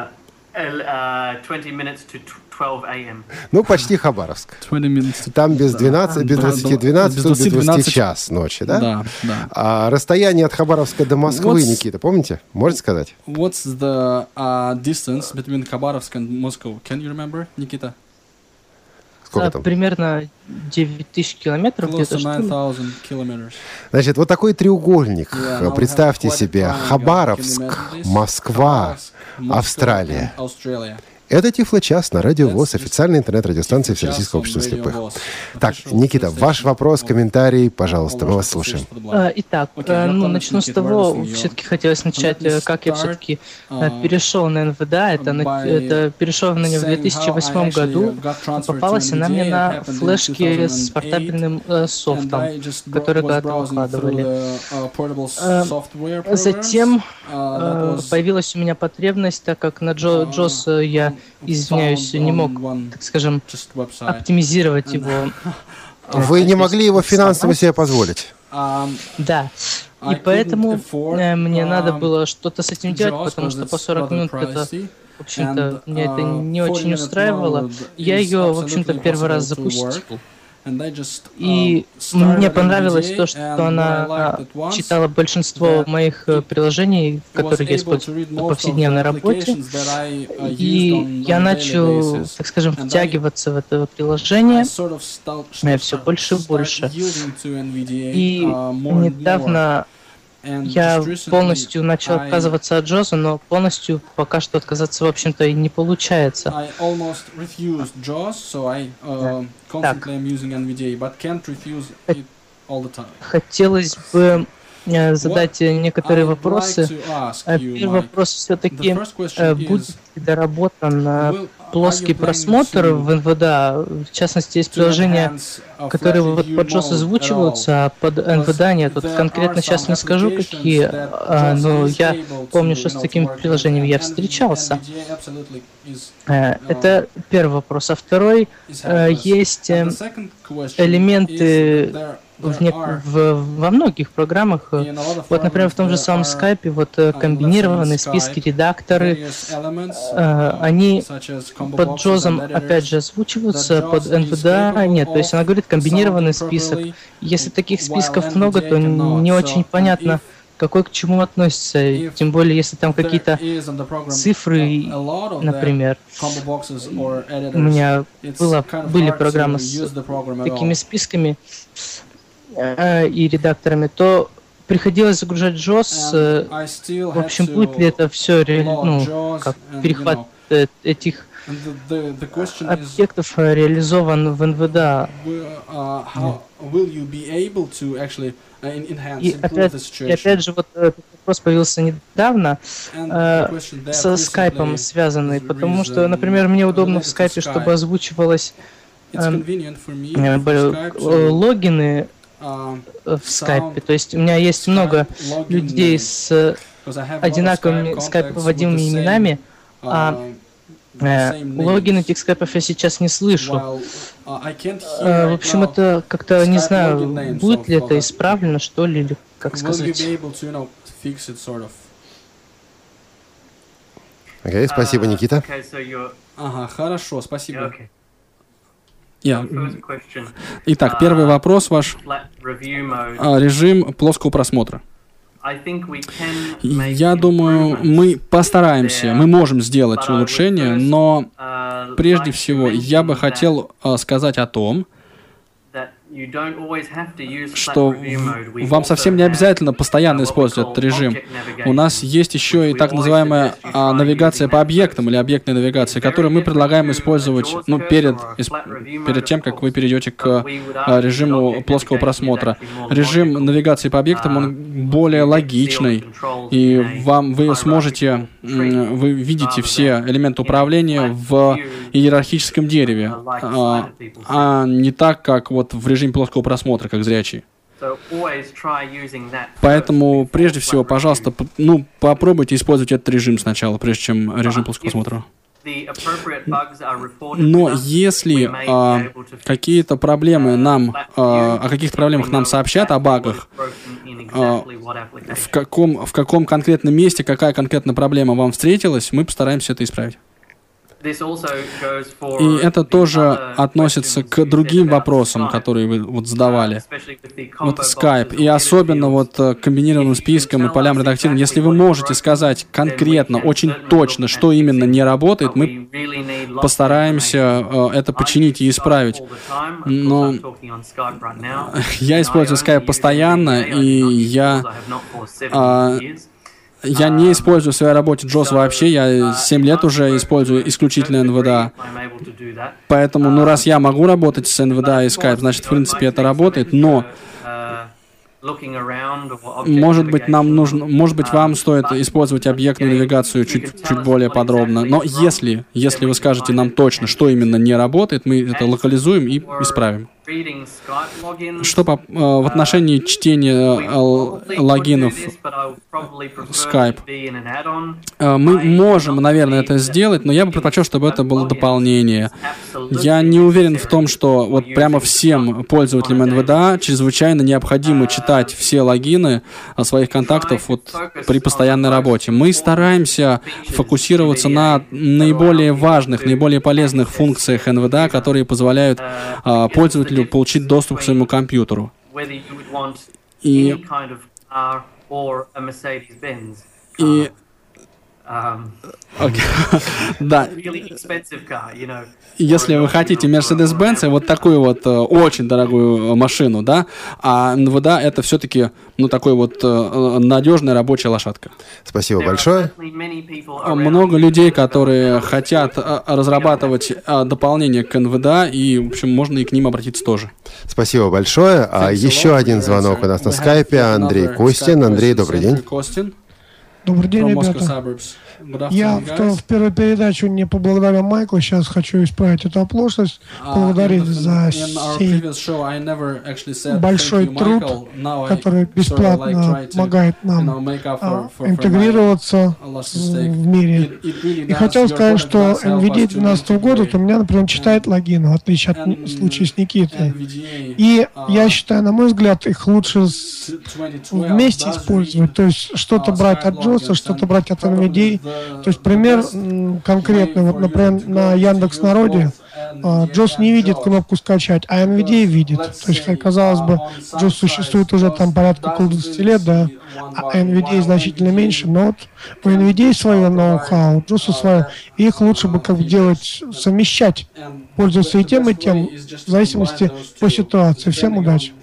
minutes to 12 a.m. Ну, почти Хабаровск. 20 minutes to... Там без 12, без 20, 12, тут без 20 час ночи, да? Да, да. А расстояние от Хабаровска до Москвы, Никита, помните? Можете сказать? What's the distance between Khabarovsk and Moscow? Can you remember, Nikita? Сколько там? Примерно 9000 километров Close где-то, to что ли? 9000 kilometers. Значит, вот такой треугольник. Yeah, now we Представьте have quite a себе. triangle. Хабаровск, Can you imagine this? Москва, Khabarovsk, Moscow Австралия. and Australia. Это Тифлочас на Радио ВОС, That's официальной интернет-радиостанции Тифлочас Всероссийского общества on Radio слепых. ВОС. Так, Official Никита, station ваш вопрос, of комментарий, пожалуйста, мы All вас Russian слушаем. Association for the Blind. Итак, Окей, я начну с Никита, того, we're listening все-таки хотелось начать, Let me как я start, все-таки перешел на НВДА. Это перешел на меня в 2008 году. Попалась она мне на флешке с портабельным софтом, который когда-то выкладывали. Затем появилась у меня потребность, так как на JOS я, извиняюсь, не мог, так скажем, оптимизировать его. Вы не могли его финансово себе позволить? Да. И поэтому мне надо было что-то с этим делать, потому что по 40 минут это, в общем-то, мне это не очень устраивало. Я ее, в общем-то, первый раз запустил. И мне понравилось то, что она читала большинство моих приложений, которые я использую в повседневной работе. И я начал, так скажем, втягиваться в это приложение все больше и больше. И недавно я полностью начал отказываться от JOS, но полностью пока что отказаться, в общем-то, и не получается. Так. Хотелось бы задать некоторые вопросы. Первый вопрос все-таки, будет ли доработан плоский просмотр в НВДА? В частности, есть приложения, которые вот под JOS озвучиваются, а под НВДА нет. Вот конкретно сейчас не скажу, какие, но я помню, что с такими приложениями я встречался. Это первый вопрос. А второй, есть элементы во многих программах, вот, например, в том же самом Skype, вот комбинированные списки, редакторы, они под JOS, опять же, озвучиваются, под NVDA нет. То есть она говорит комбинированный список. Если таких списков много, то не очень понятно, какой к чему относится. Тем более, если там какие-то цифры, например. У меня были программы с такими списками и редакторами, то приходилось загружать JOS. В общем, будет ли это все, как перехват этих объектов реализован в NVDA? И опять же, вот этот вопрос появился недавно, со скайпом связанный, потому что, например, мне удобно в скайпе, чтобы озвучивалось логины в скайпе. То есть у меня есть много людей с одинаковыми скайп-вводимыми именами, а логин этих скайпов я сейчас не слышу. В общем, это как-то, не знаю, будет ли это исправлено, что ли, или как сказать. Окей, спасибо, Никита. Ага, хорошо, спасибо. Итак, первый вопрос ваш. Режим плоского просмотра. Я думаю, мы постараемся, мы можем сделать улучшение, но прежде всего я бы хотел сказать о том, что вам совсем не обязательно постоянно использовать этот режим. У нас есть еще и так называемая навигация по объектам или объектная навигация, которую мы предлагаем использовать перед тем, как вы перейдете к режиму плоского просмотра. Режим навигации по объектам, он более логичный, и вы сможете, вы видите все элементы управления в иерархическом дереве, а не так, как вот в режиме плоского просмотра, как зрячий. Поэтому, прежде всего, пожалуйста, попробуйте использовать этот режим сначала, прежде чем режим плоского просмотра. Но если какие-то проблемы о каких-то проблемах нам сообщат, о багах, в каком конкретном месте, какая конкретная проблема вам встретилась, мы постараемся это исправить. И это тоже относится к другим вопросам, которые вы вот задавали. Вот Skype. И особенно вот к комбинированным спискам и полям редактирования. Если вы можете сказать конкретно, очень точно, что именно не работает, мы постараемся это починить и исправить. Но я использую Skype постоянно, и я не использую в своей работе JAWS вообще, я 7 лет уже использую исключительно NVDA. Поэтому, раз я могу работать с NVDA и Skype, значит, в принципе, это работает, но может быть, вам стоит использовать объектную навигацию чуть более подробно. Но если вы скажете нам точно, что именно не работает, мы это локализуем и исправим. Что в отношении чтения логинов Skype? Мы можем, наверное, это сделать, но я бы предпочел, чтобы это было дополнение. Я не уверен в том, что вот прямо всем пользователям NVDA чрезвычайно необходимо читать все логины своих контактов вот при постоянной работе. Мы стараемся фокусироваться на наиболее важных, наиболее полезных функциях NVDA, которые позволяют пользователю получить доступ к своему компьютеру. И да. Если вы хотите Mercedes-Benz, вот такую вот очень дорогую машину, да, а NVDA это все-таки, такой вот надежная рабочая лошадка. Спасибо большое. Много людей, которые хотят разрабатывать дополнение к NVDA, и, в общем, можно и к ним обратиться тоже. Спасибо большое. Еще один звонок у нас на скайпе. Андрей Костин. Андрей, добрый день. Добрый день, ребята. Я в первой передаче не поблагодарил Майкла, сейчас хочу исправить эту оплошность, поблагодарить за сей большой труд, который бесплатно помогает нам интегрироваться в мире. И хотел сказать, что NVDA 2012 года у меня, например, читает логины, в отличие от случая с Никитой. И я считаю, на мой взгляд, их лучше вместе использовать, то есть что-то брать от JAWS, что-то брать от NVDA. То есть пример конкретный, вот, например, на Яндекс.Народе JAWS не видит кнопку «Скачать», а NVDA видит. То есть, казалось бы, JAWS существует уже там порядка около 20 лет, да, а NVDA значительно меньше, но вот у NVDA свое ноу-хау, JAWS свое, и их лучше бы делать, совмещать, пользоваться и тем, в зависимости по ситуации. Всем удачи.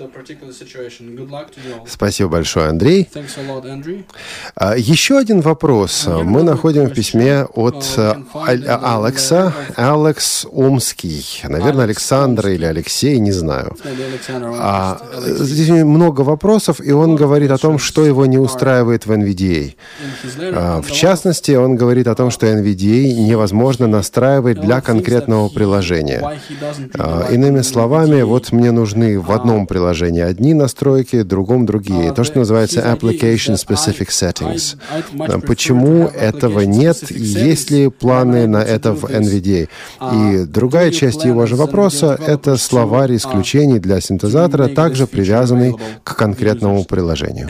Спасибо большое, Андрей. Еще один вопрос. Мы находим в письме от Алекса. Алекс Омский. Наверное, Александр или Алексей, не знаю. Здесь много вопросов, и он говорит о том, что его не устраивает в NVDA. В частности, он говорит о том, что NVDA невозможно настраивать для конкретного приложения. Иными словами, вот мне нужны в одном приложении одни настройки, в другом другие. То, что называется Application Specific Settings. Почему этого нет? Есть ли планы на это в NVDA? И другая часть его же вопроса — это словарь исключений для синтезатора, также привязанный к конкретному приложению.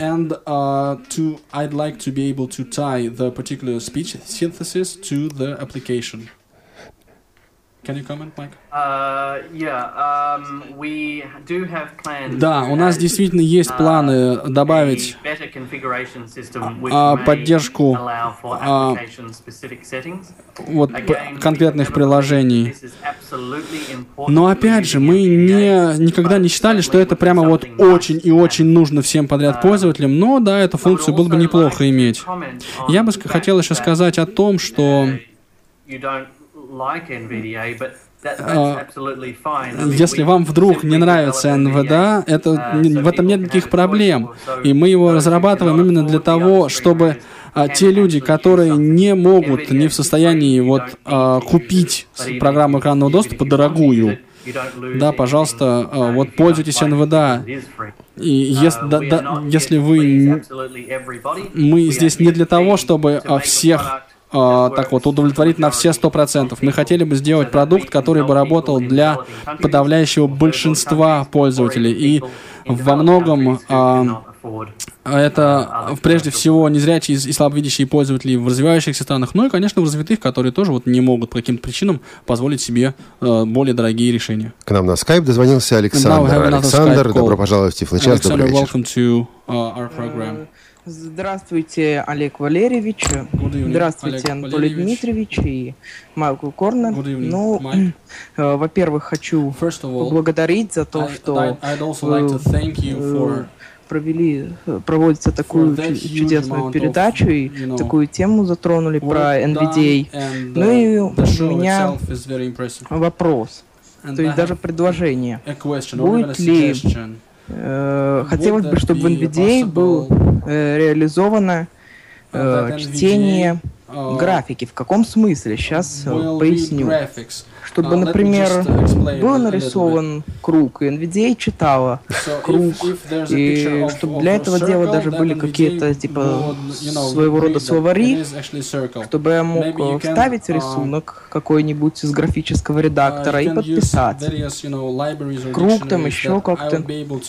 Can you comment, Mike? Да, у нас действительно есть планы добавить поддержку конкретных приложений. Но опять же, мы никогда не считали, что это прямо вот очень и очень нужно всем подряд пользователям, но да, эту функцию было бы неплохо иметь. Я бы хотел еще сказать о том, что если вам вдруг не нравится NVDA, в этом нет никаких проблем. И мы его разрабатываем именно для того, чтобы те люди, которые не могут, не в состоянии купить программу экранного доступа дорогую, да, пожалуйста, вот пользуйтесь NVDA. И если вы... Мы здесь не для того, чтобы всех так вот удовлетворить на все 100%. Мы хотели бы сделать продукт, который бы работал для подавляющего большинства пользователей. И во многом это прежде всего незрячие и слабовидящие пользователи в развивающихся странах, ну и, конечно, в развитых, которые тоже вот не могут по каким-то причинам позволить себе более дорогие решения. К нам на скайп дозвонился Александр. Александр, добро пожаловать в Тифлочас. Добрый вечер. Здравствуйте, Олег Валерьевич. Здравствуйте, Анатолий Дмитриевич и Майкл Корнер. Ну, во-первых, хочу поблагодарить за то, что проводится такую чудесную передачу и такую тему затронули про NVDA. Ну и у меня вопрос, то есть даже предложение. Будет ли... Хотелось бы, чтобы в NVDA было реализовано чтение графики. В каком смысле? Сейчас поясню. Чтобы, например, был нарисован круг, и NVDA читала круг, и чтобы для этого дела даже были какие-то, типа, своего рода словари, чтобы я мог вставить рисунок какой-нибудь из графического редактора и подписать. Круг там еще как-то.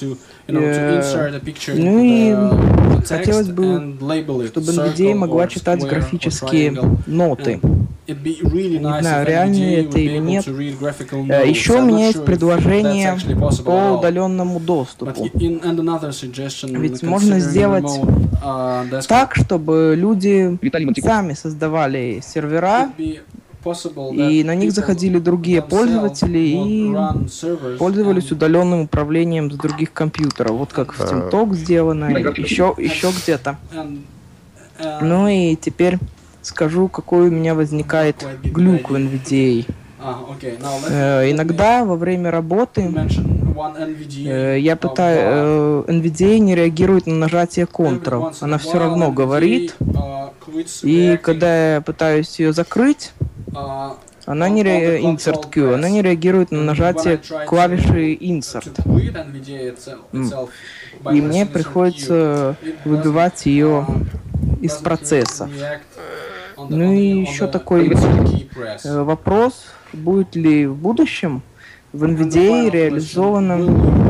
Ну и хотелось бы, чтобы NVDA могла читать графические ноты. Не знаю, реально это или нет. Еще у меня есть предложение по удаленному доступу. Ведь можно сделать так, чтобы люди сами создавали сервера, и на них заходили другие пользователи и пользовались удаленным управлением с других компьютеров. Вот как в TeamTalk сделано, еще где-то. Ну и теперь скажу, какой у меня возникает глюк в NVDA. Иногда во время работы NVDA не реагирует на нажатие Ctrl. Она все равно говорит. И когда я пытаюсь ее закрыть, она не Insert Q, она не реагирует на нажатие клавиши Insert. И мне приходится выбивать ее из процесса. Ну и еще такой вопрос, будет ли в будущем в NVDA реализована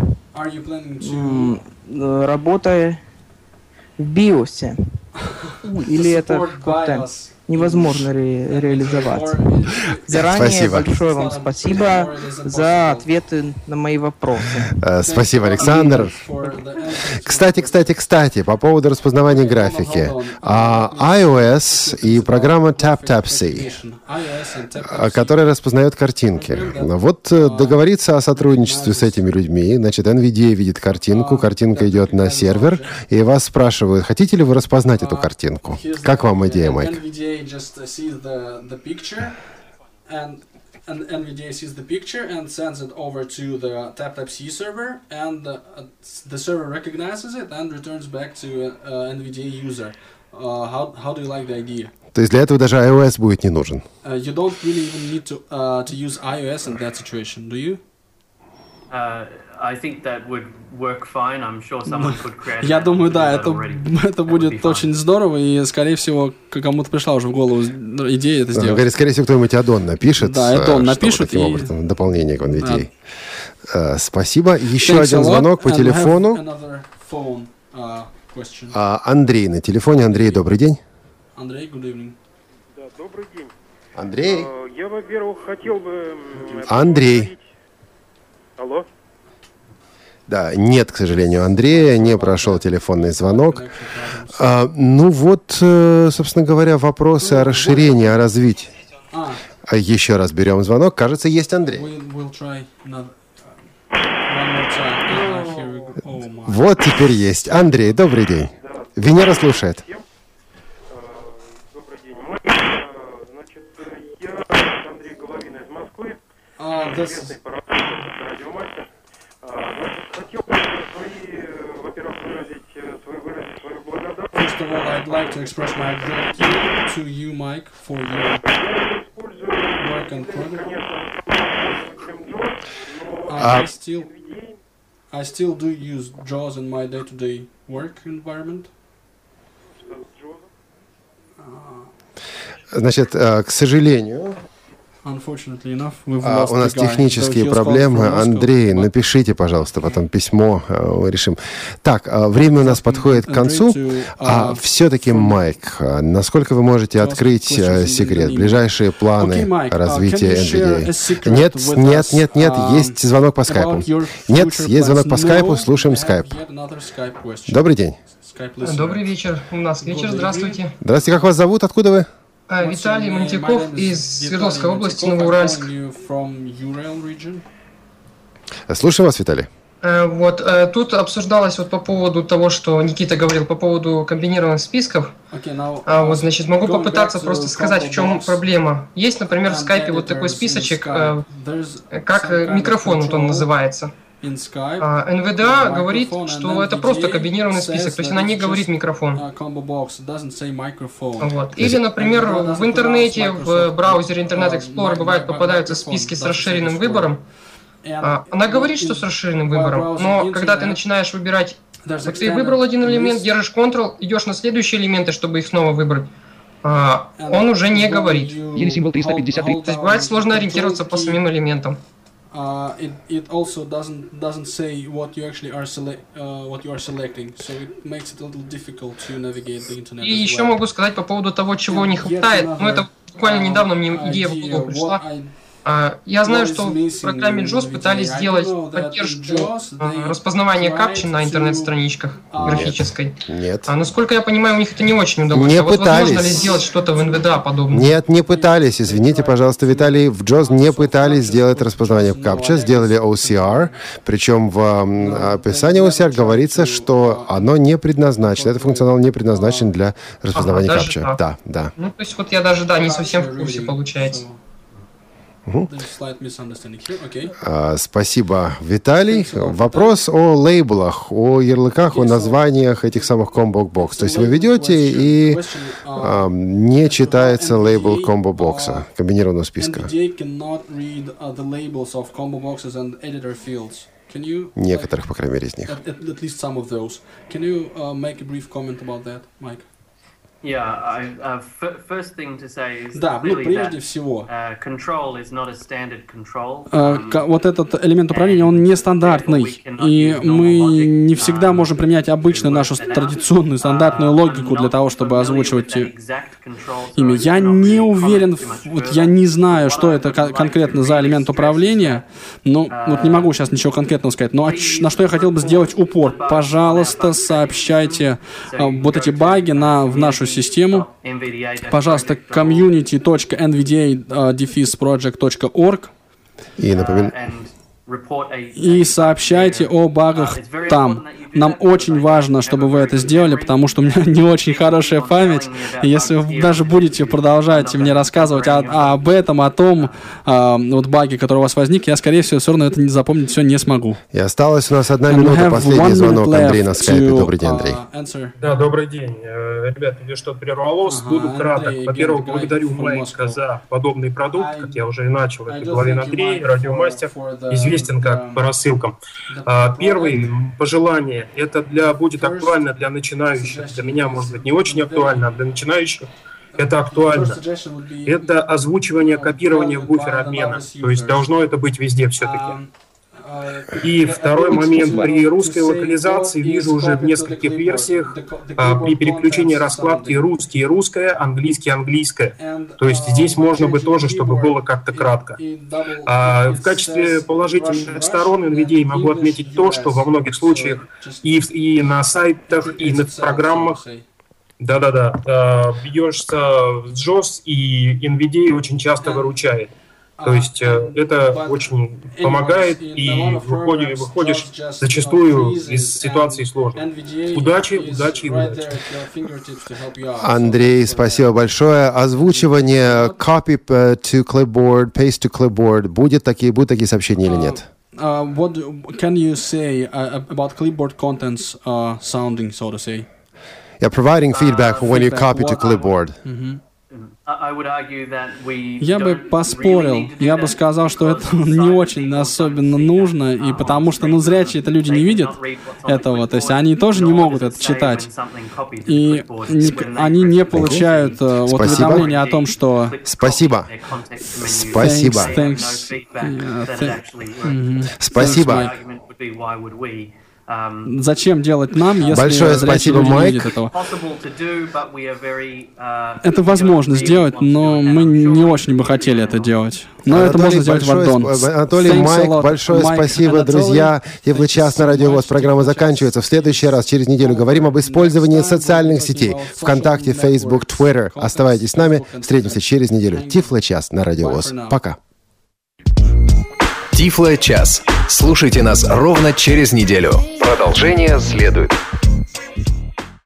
работа в BIOS? Или это как-то невозможно реализовать? Заранее большое вам спасибо за ответы на мои вопросы. Спасибо, Александр. Кстати, по поводу распознавания графики. iOS и программа TapTapSee, которая распознает картинки. Вот договориться о сотрудничестве с этими людьми. Значит, NVDA видит картинку, картинка идет на сервер, и вас спрашивают, хотите ли вы распознать эту картинку? Как вам идея, Майк? Just sees the picture, and NVDA sees the picture and sends it over to the TapTapSee server, and the server recognizes it and returns back to NVDA user. How do you like the idea? То есть для этого даже iOS будет не нужен. You don't really even need to use iOS in that situation, do you? I think that would work fine. I'm sure someone could create. Я думаю, да, это будет очень здорово, и, скорее всего, кому-то пришла уже в голову идея это сделать. Говорит, скорее всего, кто-нибудь add-on напишет. Да, add-on напишут. Таким образом, дополнение к NVDA. Спасибо. Еще один звонок по телефону. Андрей на телефоне. Андрей, добрый день. Андрей, good evening. Да, добрый день. Андрей. Я, во-первых, хотел бы... Андрей. Алло? Да, нет, к сожалению, Андрея, не прошел телефонный звонок. Ну вот, собственно говоря, вопросы о расширении, о развитии. Еще раз берем звонок. Кажется, есть Андрей. Вот теперь есть. Андрей, добрый день. Венера слушает. Добрый день. Значит, я Андрей Головин из Москвы. Известный радиомастер. Хотел бы во-первых, выразить свою благодарность. First of all, I'd like to express my gratitude to you, Mike, for your work and product. I still do use JAWS in my day-to-day work environment. Значит, к сожалению, у нас технические проблемы. Андрей, напишите, пожалуйста, потом письмо, решим. Так, время у нас подходит к концу. А все-таки, Майк, насколько вы можете открыть секрет? Ближайшие планы развития NVDA? Нет, есть звонок по скайпу. Нет, есть звонок по скайпу, слушаем скайп. Добрый день. Добрый вечер. У нас вечер, здравствуйте. Здравствуйте, как вас зовут? Откуда вы? Виталий Монтяков из Свердловской области, Новоуральск. Слушаю вас, Виталий. Вот, тут обсуждалось вот по поводу того, что Никита говорил по поводу комбинированных списков. Вот, значит, могу попытаться просто сказать, в чем проблема. Есть, например, в скайпе вот такой списочек, как микрофон, вот он называется. NVDA говорит, что это просто комбинированный список, то есть она не говорит микрофон. Вот. Или, например, в интернете, в браузере Internet Explorer бывает попадаются списки с расширенным выбором. Она говорит, что с расширенным выбором, но когда ты начинаешь выбирать, вот ты выбрал один элемент, держишь Ctrl, идешь на следующие элементы, чтобы их снова выбрать, он уже не говорит. Или символ 353. То есть бывает сложно ориентироваться по самим элементам. It also doesn't say what you actually are selecting, so it makes it a little difficult to navigate the internet. И еще могу сказать по поводу того, чего не хватает. Но это буквально недавно мне идея в голову пришла. Я знаю, что в программе JAWS пытались сделать поддержку распознавания капчи на интернет-страничках графической. Нет. Насколько я понимаю, у них это не очень удалось. Не вот пытались. Возможно ли сделать что-то в NVDA подобное? Нет, не пытались. Извините, пожалуйста, Виталий. В JAWS не пытались сделать распознавание капча, сделали OCR. Причем в описании OCR говорится, что оно не предназначено. Этот функционал не предназначен для распознавания капча. Да. Ну, то есть вот я даже, не совсем в курсе, получается. Спасибо, Виталий. Вопрос о лейблах, о ярлыках, о названиях этих самых комбо-бокс. То есть вы ведете и не читается лейбл комбо-бокса, комбинированного списка. Некоторых, по крайней мере, из них. Да, прежде всего, вот этот элемент управления, он нестандартный, и мы не всегда можем применять обычную нашу традиционную стандартную логику для того, чтобы озвучивать имя. Я не уверен, вот я не знаю, что это конкретно за элемент управления, но вот не могу сейчас ничего конкретного сказать, но на что я хотел бы сделать упор. Пожалуйста, сообщайте вот эти баги в нашу систему. Пожалуйста, community.nvda-project.org и сообщайте о багах там. Нам очень важно, чтобы вы это сделали, потому что у меня не очень хорошая память. И если вы даже будете продолжать мне рассказывать об этом, о том вот баге, который у вас возник, я, скорее всего, все равно это запомнить все не смогу. И осталась у нас 1 минута, последний звонок. Андрей на скайпе. Добрый день, Андрей. Да, добрый день. Ребята, мне что-то прервалось. Буду краток. Во-первых, благодарю Майка за подобный продукт, как я уже и начал. Это Головин Андрей, радиомастер, известен как по рассылкам. Первое пожелание. Это будет актуально для начинающих. Для меня, может быть, не очень актуально, а для начинающих это актуально. Это озвучивание, копирование буфера обмена. То есть должно это быть везде все-таки. И второй момент. При русской локализации вижу уже в нескольких версиях при переключении раскладки русский и русское, английский английское. То есть здесь можно бы тоже, чтобы было как-то кратко. В качестве положительных сторон NVDA могу отметить то, что во многих случаях и на сайтах, и на программах бьешься в JAWS, и NVDA очень часто выручает. То есть это очень помогает, и выходишь зачастую из ситуации сложной. Удачи и удачи. Андрей, спасибо большое. Озвучивание copy to clipboard, paste to clipboard. Будут такие сообщения или нет? What can you say about clipboard contents sounding, so to say? Yeah, providing feedback when you copy to clipboard. Я бы поспорил, я бы сказал, что это не очень особенно нужно, и потому что, зрячие это люди не видят этого, то есть они тоже не могут это читать, и они не получают уведомления о том, что... Спасибо. Спасибо. Спасибо. Зачем делать нам, если большое спасибо, Майк. Этого? Это возможно сделать, но мы не очень бы хотели это делать. Но Анатолий, это можно сделать в аддон. Анатолий, Майк, большое спасибо, Анатолий. Друзья. Тифлый час на Радио ВОС. Программа заканчивается. В следующий раз, через неделю, говорим об использовании социальных сетей. ВКонтакте, Facebook, Twitter. Оставайтесь с нами. Встретимся через неделю. Тифлый час на Радио ВОС. Пока. Тифлый час. Слушайте нас ровно через неделю. Продолжение следует.